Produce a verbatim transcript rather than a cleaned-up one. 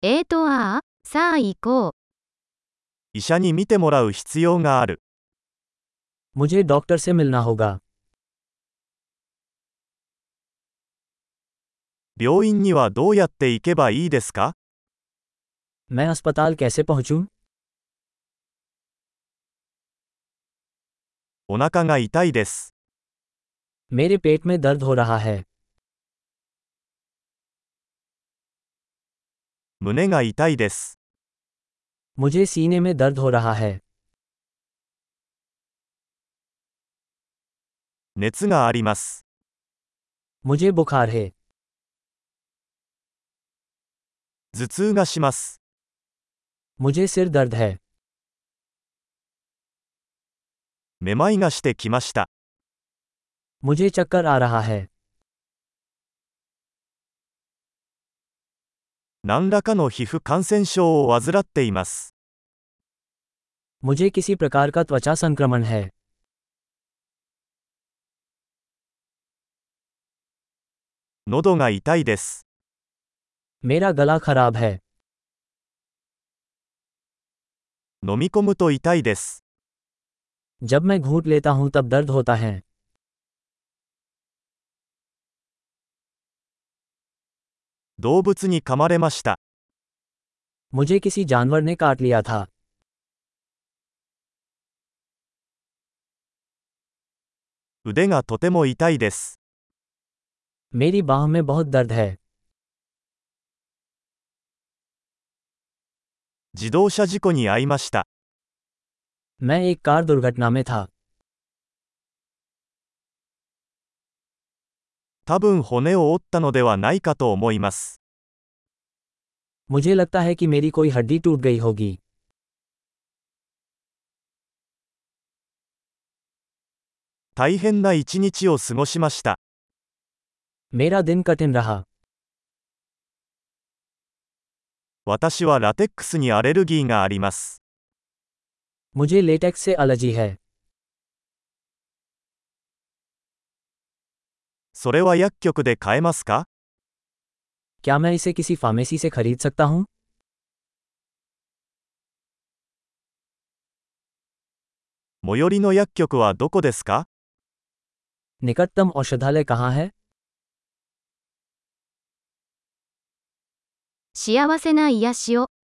えーとああ、さあ行こう。 医者に診てもらう必要がある。 मुझे डॉक्टर से मिलना होगा। 病院にはどうやって行けばいいですか？ मैं अस्पताल कैसे पहुंचूं? お腹が痛いです。 मेरे पेट में दर्द हो रहा है। 胸が痛いです。 मुझे सीने में दर्द हो रहा है। 熱があります。 मुझे बुखार है। 頭痛がします。 मुझे सिर दर्द है। めまいがしてきました。 मुझे चक्कर आ रहा है। 何らかの皮膚感染症を患っています。 मुझे किसी प्रकार का त्वचा संक्रमण है। 喉が痛いです。 मेरा गला खराब है। 飲み込むと痛いです。 जब मैं घूंट लेता हूं तब दर्द होता है। 動物に噛まれました。 मुझे किसी जानवर ने काट लिया था। 腕がとても痛いです。 मेरी बाह में बहुत दर्द है। 自動車事故に遭いました。 मैं एक कार दुर्घटना में था। 多分骨を折ったのではないかと思います。 मुझे लगता है कि मेरी कोई हड्डी टूट गई होगी। 大変な一日を過ごしました。 मेरा दिन कठिन रहा। 私はラテックスにアレルギーがあります。 मुझे लेटेक्स से एलर्जी है। それは薬局で買えますか？ क्या मैं इसे किसी फार्मेसी से खरीद सकता हूँ? 最寄りの薬局はどこですか？ निकटतम औषधालय कहाँ है? 幸せな癒しを。